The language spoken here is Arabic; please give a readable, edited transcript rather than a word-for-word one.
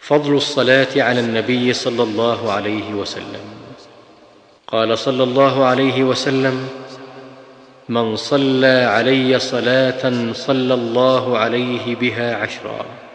فضل الصلاة على النبي صلى الله عليه وسلم. قال صلى الله عليه وسلم: من صلى علي صلاة صلى الله عليه بها 10.